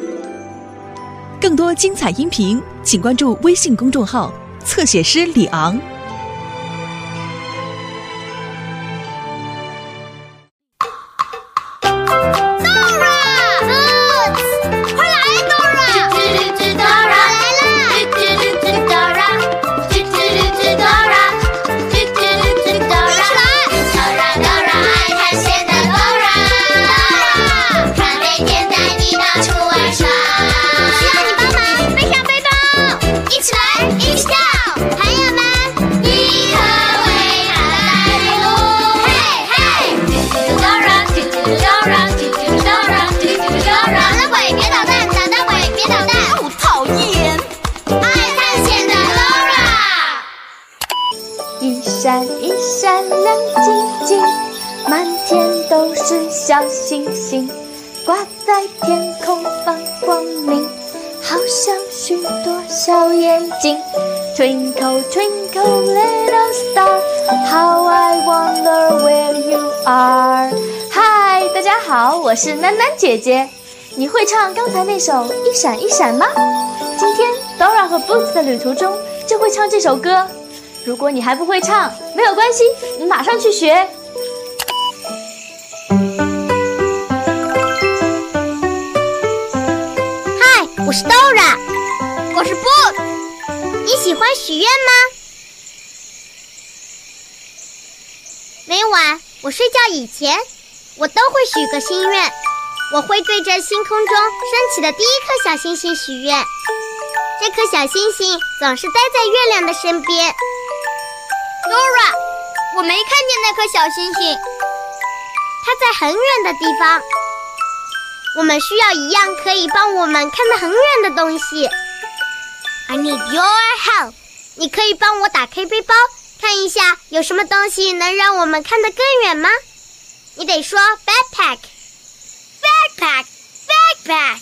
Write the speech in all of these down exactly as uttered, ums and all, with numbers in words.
更多精彩音频，请关注微信公众号“侧写师李昂”。 一闪一闪亮晶晶，满天都是小星星，挂在天空放光明，好像许多小眼睛。 Twinkle twinkle little star, how I wonder where you are。 嗨，大家好，我是囡囡姐姐。你会唱刚才那首一闪一闪吗？今天 Dora 和 Boots 的旅途中就会唱这首歌。如果你还不会唱，没有关系，你马上去学。 嗨，我是 Dora， 我是 Boots。你喜欢许愿吗？每晚我睡觉以前，我都会许个心愿。我会对着星空中升起的第一颗小星星许愿。这颗小星星总是待在月亮的身边。Dora， 我没看见那颗小星星，它在很远的地方。我们需要一样可以帮我们看得很远的东西。I need your help。你可以帮我打开背包，看一下有什么东西能让我们看得更远吗？你得说 backpack。Backpack, backpack。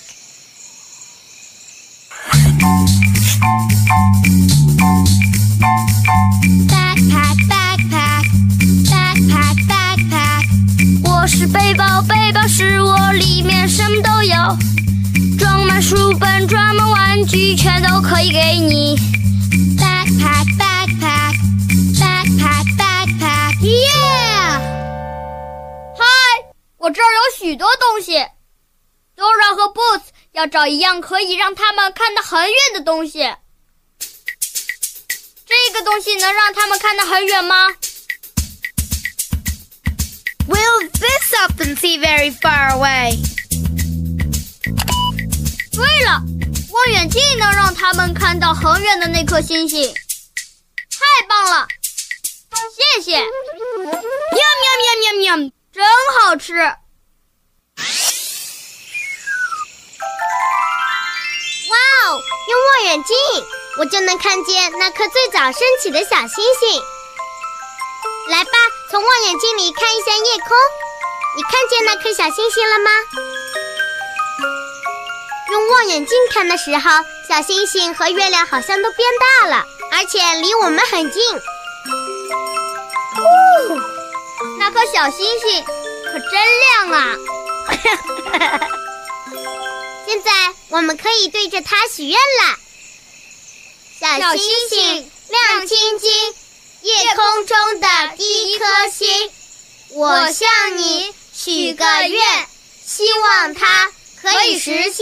我是背包，背包是我，里面什么都有，装满书本，装满玩具，全都可以给你。Backpack, backpack, backpack, backpack, yeah！ 嗨，我这儿有许多东西。Dora 和 Boots 要找一样可以让他们看得很远的东西。这个东西能让他们看得很远吗？ Will this help them see very far away？ 对了，望远镜能让他们看到很远的那颗星星。太棒了，谢谢。喵喵喵喵喵，真好吃。 哇哦，用望远镜我就能看见那颗最早升起的小星星。来吧，从望远镜里看一下夜空，你看见那颗小星星了吗？用望远镜看的时候，小星星和月亮好像都变大了，而且离我们很近。 哦，那颗小星星可真亮啊！ 现在我们可以对着它许愿了。小星星亮晶晶，夜空中的第一颗星，我向你许个愿，希望它可以实现。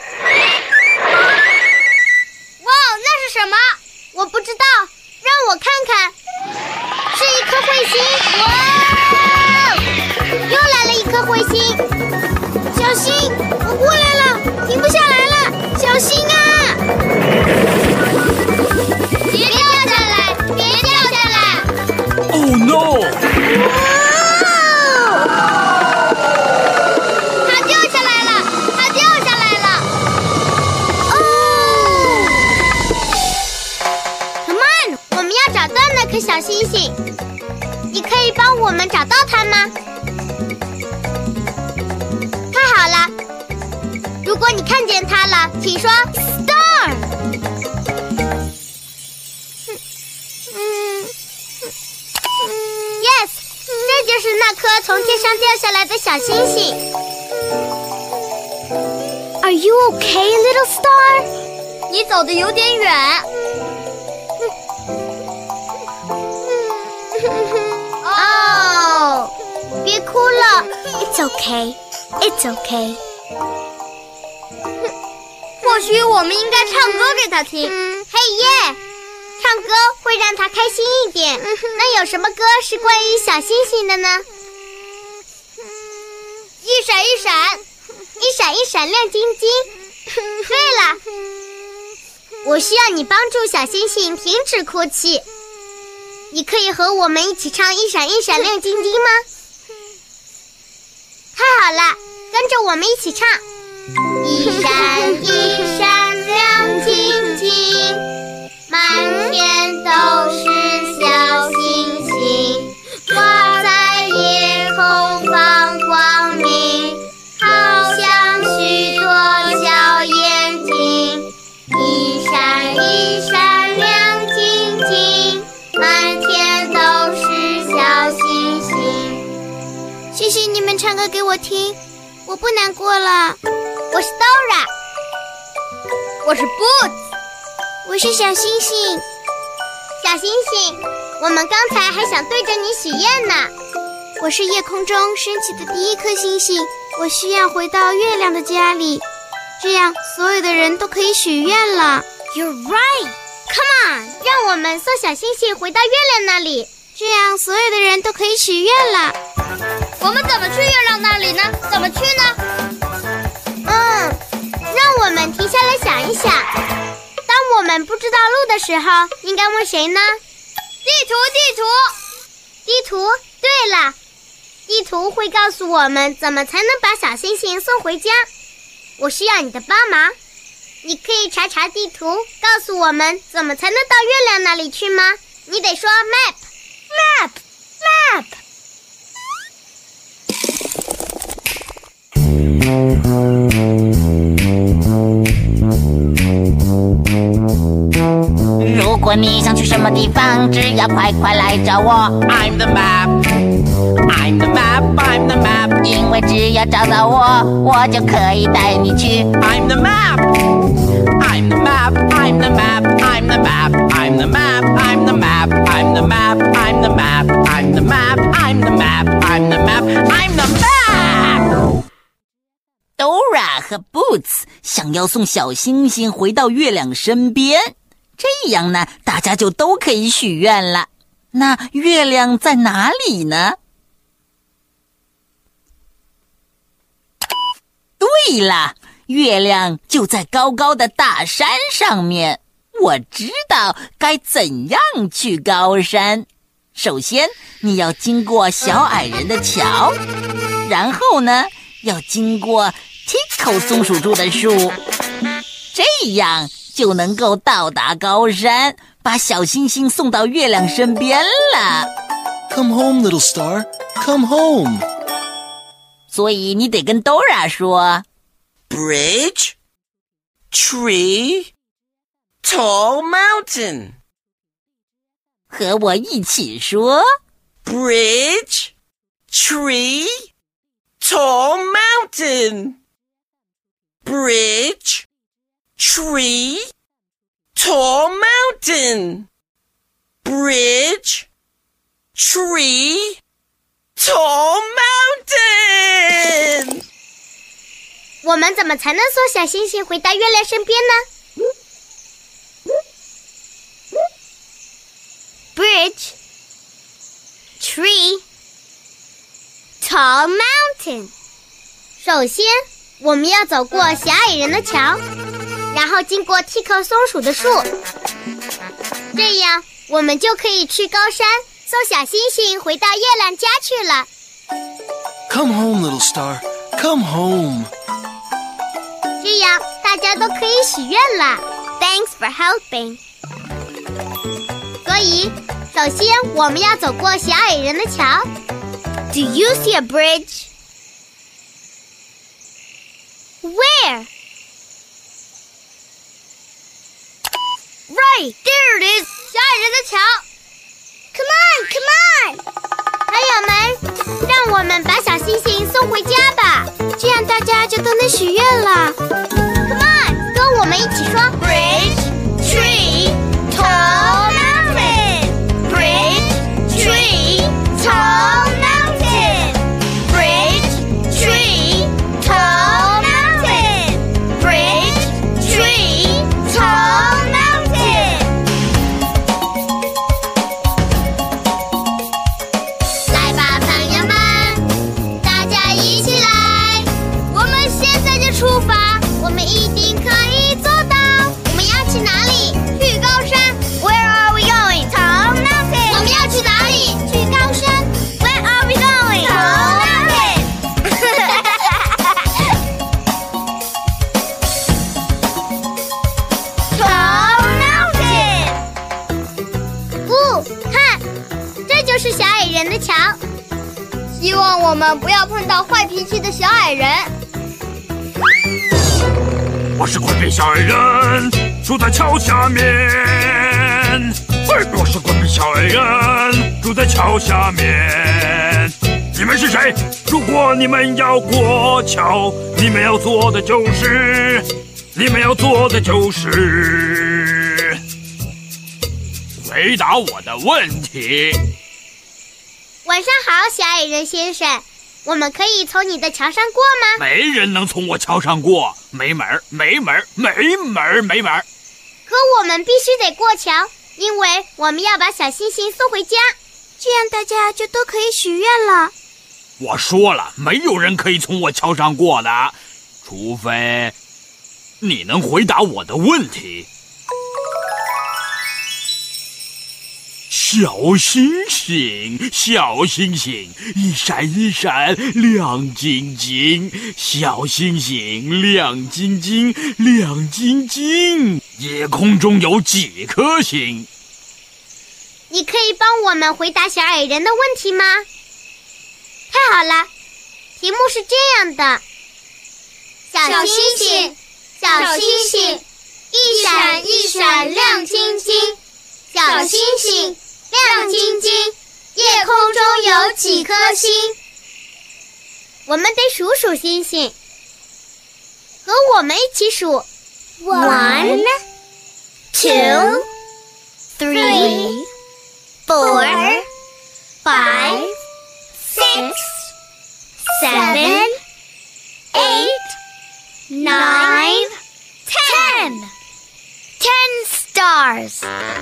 哇，那是什么？ 我不知道，让我看看。是一颗彗星。哇，又来了一颗彗星。小心，我过来了，停不下来了，小心啊！别掉下来，别掉下来 ！Oh no！ 它掉下来了，它掉下来了！哦 ，Come on， 我们要找到那颗小星星。你可以帮我们找到它吗？太好了！如果你看见它了，请说 Star。Yes， 这就是那颗从天上掉下来的小星星。 Are you okay, little star? 你走得有点远。 哦，别哭了。It's okay. It's okay. 或许我们应该唱歌给他听。 嗯，嘿耶！唱歌会让他开心一点。那有什么歌是关于小星星的呢？ 一闪一闪， 一闪一闪亮晶晶。对了，我需要你帮助小星星停止哭泣。你可以和我们一起唱一闪一闪亮晶晶吗？太好了，跟着我们一起唱。一闪一闪亮晶晶，满天都是小星星，挂在夜空放光明，好像许多小眼睛。一闪一闪亮晶晶，满天都是小星星。谢谢你们唱歌给我听，我不难过了。我是 Dora， 我是 Boots， 我是小星星。小星星，我们刚才还想对着你许愿呢。我是夜空中升起的第一颗星星，我需要回到月亮的家里，这样所有的人都可以许愿了。You're right. Come on， 让我们送小星星回到月亮那里，这样所有的人都可以许愿了。 我们怎么去月亮那里呢？怎么去呢？ 嗯，让我们停下来想一想，当我们不知道路的时候，应该问谁呢？ 地图，地图， 地图。对了，地图会告诉我们怎么才能把小星星送回家。我需要你的帮忙，你可以查查地图，告诉我们怎么才能到月亮那里去吗？你得说 map map map。 如果你想去什么地方，只要快快来找我。I'm the map, I'm the map, I'm the map。因为只要找到我，我就可以带你去。I'm the map, I'm the map, I'm the map, I'm the map, I'm the map, I'm the map, I'm the map, I'm the map, I'm the map, I'm the map, I'm the map, I'm the map。Dora 和 Boots 想要送小星星回到月亮身边。这样呢，大家就都可以许愿了。那月亮在哪里呢？对了，月亮就在高高的大山上面。我知道该怎样去高山。首先，你要经过小矮人的桥，然后呢，要经过 Tico 松鼠住的树，这样就能够到达高山，把小星星送到月亮身边了。 Come home, little star. Come home. 所以你得跟 Dora 说 Bridge, tree, tall mountain. 和我一起说 Bridge, tree, tall mountain. Bridge, tree, tall mountain. Bridge, tree, tall mountain. 我们怎么才能送小星星回到月亮身边呢？ Bridge, tree, tall mountain. 首先，我们要走过小矮人的桥，然后经过 Tico 松鼠的树，这样我们就可以去高山，送小星星回到月亮家去了。 Come home, little star. Come home. 这样大家都可以许愿了。Thanks for helping. 所以，首先我们要走过小矮人的桥。Do you see a bridge? Where? Right, there it is. 小矮人的桥。 Come on, come on. 朋友们， 让我们把小星星送回家吧， 这样大家就都能许愿了。 Come on， 跟我们一起说 Bridge, tree, tall mountain. Bridge, tree, tall mountain. Bridge, tree, tall mountain. Bridge, tree, tall mountain. 来吧，朋友们，大家一起来，我们现在就出发，我们一定可以做到。我们要去哪里？去高山。Where are we going? Tall mountain. 我们要去哪里？去高山。Where are we going? Tall mountain. Tall mountain. 不，看，这就是小矮人的墙。 希望我们不要碰到坏脾气的小矮人。 我是滚边小矮人，住在桥下面。我是滚边小矮人，住在桥下面。你们是谁？如果你们要过桥，你们要做的就是，你们要做的就是回答我的问题。 晚上好，小矮人先生，我们可以从你的桥上过吗？ 没人能从我桥上过，没门儿，没门儿，没门儿，没门儿。 可我们必须得过桥，因为我们要把小星星送回家， 这样大家就都可以许愿了。 我说了，没有人可以从我桥上过的，除非你能回答我的问题。小星星，小星星，一闪一闪亮晶晶，小星星亮晶晶亮晶晶，夜空中有几颗星？ 你可以帮我们回答小矮人的问题吗？太好了，题目是这样的：小星星，小星星，一闪一闪亮晶晶，小星星亮晶晶，夜空中有几颗星？我们得数数星星，和我们一起数 One, two, three, four, five, six, seven, eight, nine, ten. Ten stars.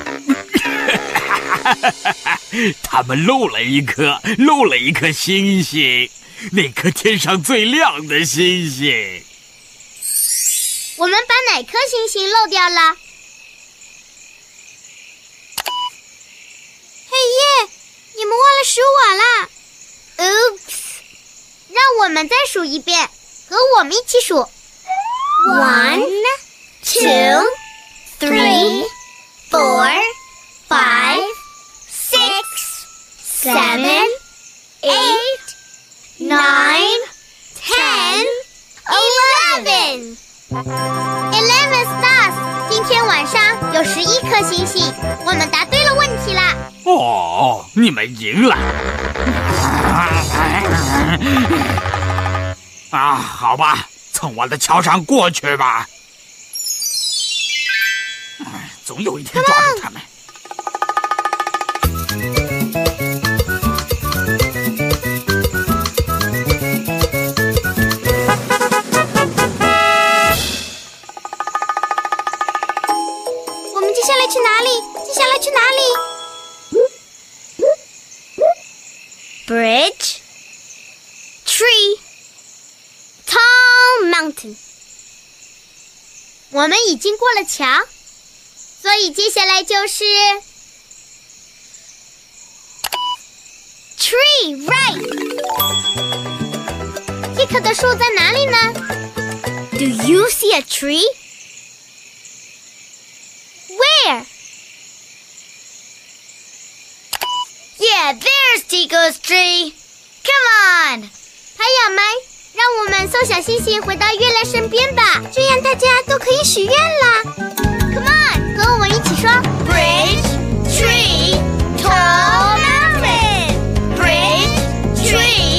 他们漏了一颗，漏了一颗星星，那颗天上最亮的星星。 我们把哪颗星星漏掉了？ 嘿耶，你们忘了数我啦 Oops！ 让我们再数一遍，和我们一起数 One, two, three, four, five, six, seven, eight, nine, ten, eleven. Eleven stars. 今天晚上有十一颗星星，我们答对了问题啦。 哦，你们赢了。啊，好吧，从我的桥上过去吧。总有一天抓住他们。 我们接下来去哪里？接下来去哪里 ？Bridge, tree, tall mountain. 我们已经过了桥，所以接下来就是 tree, right. 这棵的树在哪里呢 ？Do you see a tree? Where? Yeah, there's Tico's tree. Come on. 朋友们，让我们送小星星回到月亮身边吧， 这样大家都可以许愿啦。 Come on， 和我们一起说 Bridge, tree, tall mountain. Bridge, tree.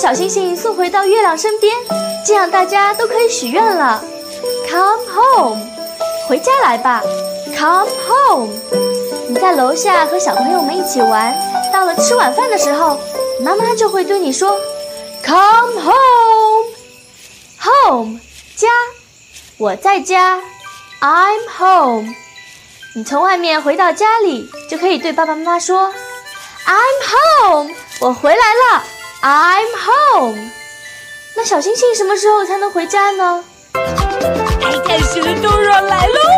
小星星送回到月亮身边，这样大家都可以许愿了。Come home， 回家来吧。Come home， 你在楼下和小朋友们一起玩，到了吃晚饭的时候，妈妈就会对你说 Come home。Home， 家，我在家 ，I'm home。你从外面回到家里，就可以对爸爸妈妈说 I'm home， 我回来了 ，I'm home。那小星星什么时候才能回家呢？ 爱看书的Dora来喽！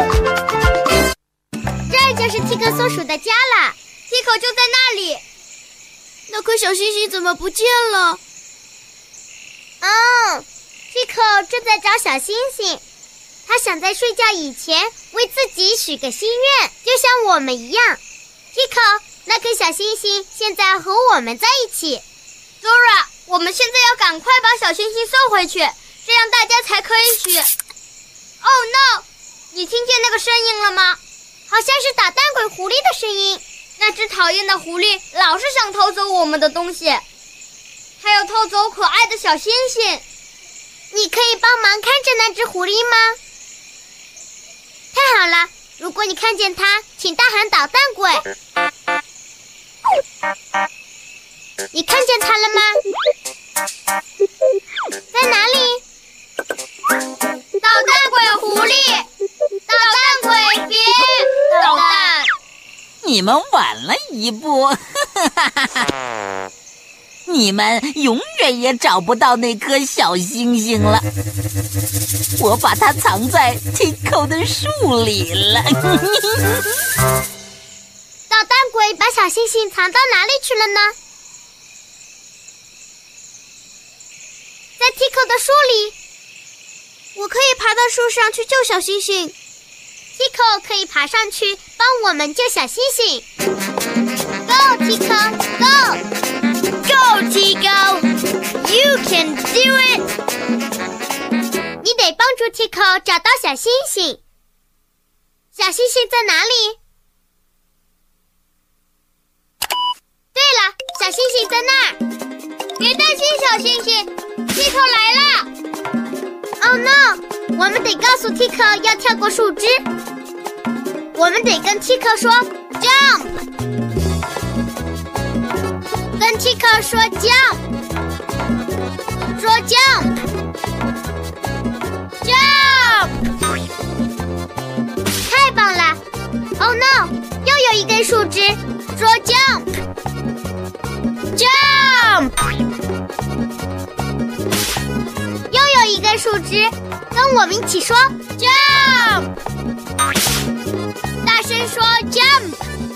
这就是 Tico 松鼠的家啦 ，Tico 就在那里。那颗小星星怎么不见了？ 哦 ，Tico 正在找小星星，他想在睡觉以前为自己许个心愿，就像我们一样。Tico， 那颗小星星现在和我们在一起。 Dora， 我们现在要赶快把小星星送回去，这样大家才可以许。Oh no！ 你听见那个声音了吗？ 好像是捣蛋鬼狐狸的声音。 那只讨厌的狐狸老是想偷走我们的东西，还有偷走可爱的小星星。 你可以帮忙看着那只狐狸吗？太好了，如果你看见它，请大喊捣蛋鬼。你看见它了吗？在哪里？ 捣蛋鬼狐狸，捣蛋鬼别捣蛋！ 你们晚了一步，你们永远也找不到那颗小星星了。我把它藏在 Tico 的树里了。 捣蛋鬼把小星星藏到哪里去了呢？在 Tico 的树里。 我可以爬到树上去救小星星。 Tico 可以爬上去帮我们救小星星。Go Tico Go Go Tico You can do it 你得帮助 Tico 找到小星星。小星星在哪里？对了，小星星在那儿。 别担心小星星 Tico 来了。 Oh no！ 我们得告诉 Tico 要跳过树枝。我们得跟 Tico 说 Jump， 跟 Tico 说 Jump， 说 Jump Jump， 太棒了 ！Oh no！ 又有一根树枝，说 Jump Jump。一根树枝，跟我们一起说 Jump， 大声说 Jump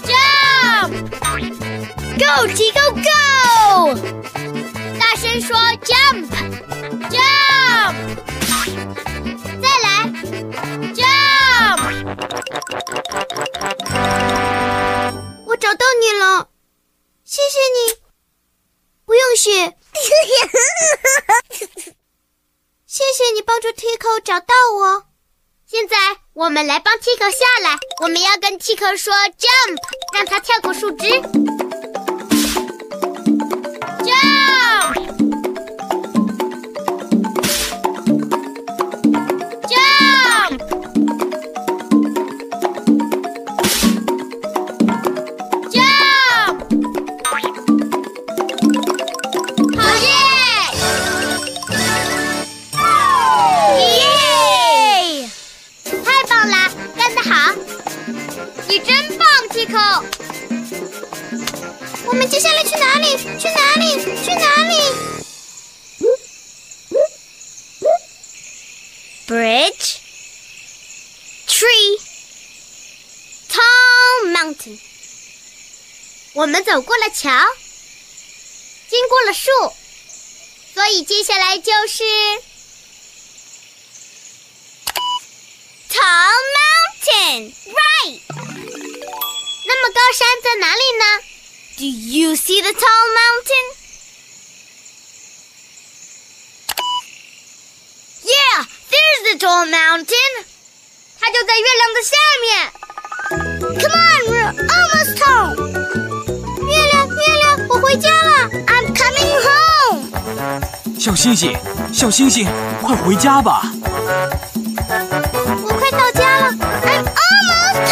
Jump，Go Tico Go， 大声说 Jump Jump， 再来 Jump。 我找到你了，谢谢你，不用谢。谢谢你帮助 Tico 找到我。 现在我们来帮 Tico 下来，我们要跟 Tico 说 Jump， 让他跳过树枝。Jump Jump Jump， 好耶！ Tico， 我们接下来去哪里？去哪里？去哪里 ？Bridge, tree, tall mountain。我们走过了桥，经过了树，所以接下来就是 tall mountain, right？那么高山在哪里呢 ？Do you see the tall mountain? Yeah, there's the tall mountain. 它就在月亮的下面。 Come on, we're almost home. 月亮，月亮，我回家了。 I'm coming home. 小星星，小星星，快回家吧！ 我快到家了 ，I'm almost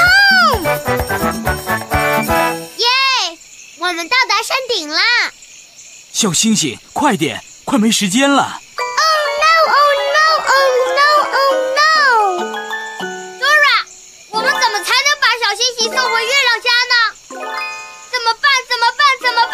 home！ 耶，我们到达山顶啦！ 小星星，快点，快没时间了 ！Oh no! Oh no! Oh no! Oh no! 我们怎么才能把小星星送回月亮家呢？怎么办？怎么办？怎么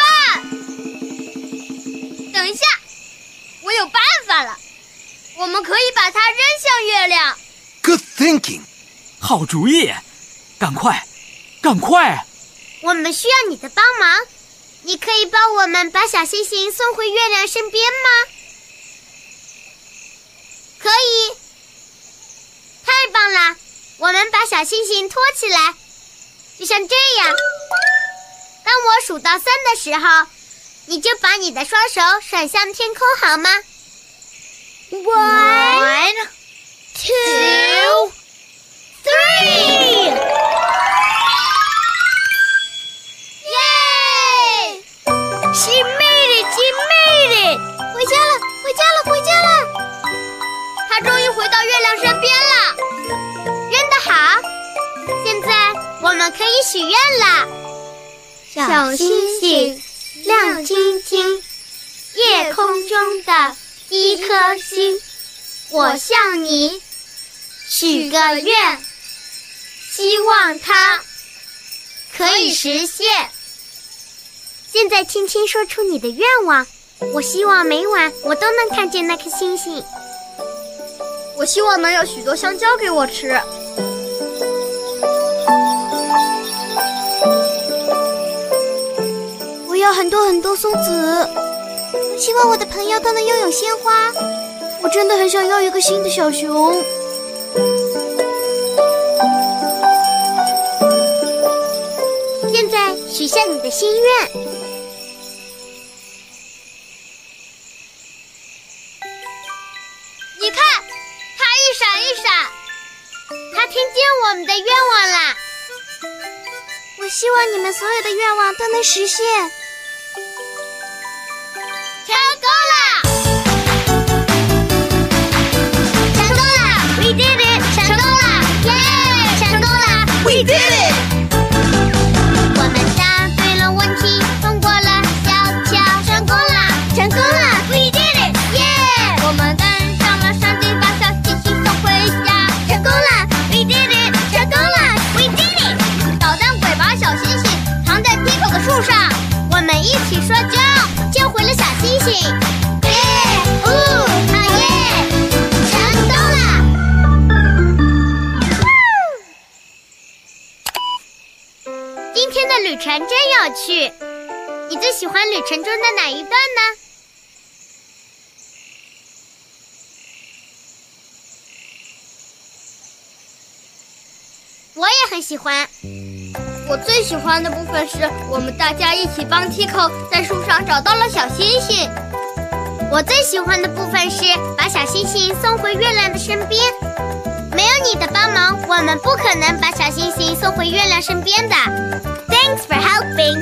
办？等一下，我有办法了！我们可以把它扔向月亮。 Good thinking！ 好主意！赶快，赶快！ 我们需要你的帮忙，你可以帮我们把小星星送回月亮身边吗？可以！太棒了！我们把小星星托起来，就像这样。当我数到三的时候，你就把你的双手甩向天空，好吗 ？One, two, three！ 耶 ！She made it! She made it! 回家了，回家了，回家了！ 她终于回到月亮身边了。 扔得好！现在我们可以许愿了。小星星亮晶晶，夜空中的一颗星，我向你许个愿，希望它可以实现。现在轻轻说出你的愿望，我希望每晚我都能看见那颗星星。 我希望能有许多香蕉给我吃。 我要很多很多松子。我希望我的朋友都能拥有鲜花。我真的很想要一个新的小熊。 现在许下你的心愿。 你看，它一闪一闪， 它听见我们的愿望啦。 我希望你们所有的愿望都能实现。 成功了！成功了 ！We did it！ 成功了！耶！ Yeah, 成功了 ！We did it！ 我们答对了问题，通过了小桥，成功了！成功了 ！We did it！ 耶！ Yeah, 我们登上了山顶，把小星星送回家， 成功了 ！We did it！ 成功了 ！We did it！ 捣蛋鬼把小星星藏在梯口的树上， 我们一起说救，救回了小星星。耶！哦，好耶！成功了！今天的旅程真有趣，你最喜欢旅程中的哪一段呢？我也很喜欢。 我最喜欢的部分是我们大家一起帮 Tico 在树上找到了小星星。 我最喜欢的部分是把小星星送回月亮的身边。没有你的帮忙，我们不可能把小星星送回月亮身边的。Thanks for helping.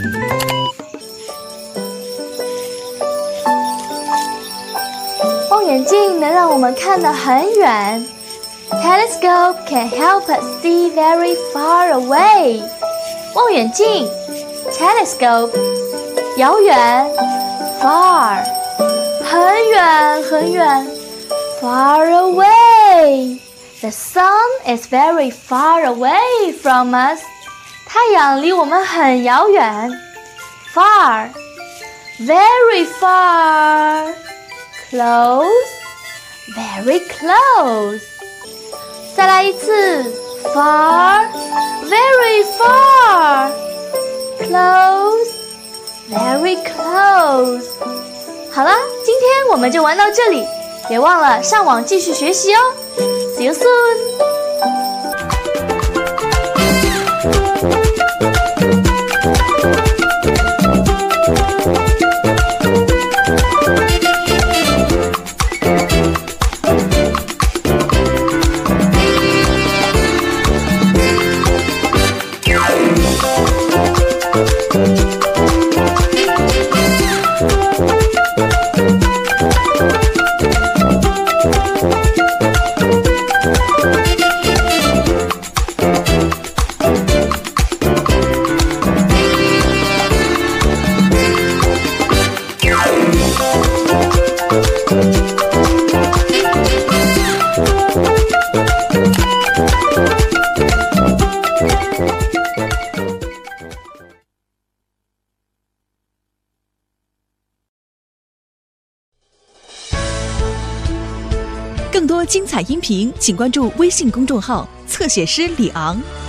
望远镜能让我们看得很远。Telescope can help us see very far away. 望远镜 Telescope 遥远 Far 很远很远 Far away. The sun is very far away from us. 太阳离我们很遥远 Far Very far Close Very close. 再来一次 Far Very far Close Very close. 好了，今天我们就玩到这里，别忘了上网继续学习哦。See you soon. Thank you. 更多精彩音频，请关注微信公众号“侧写师李昂”。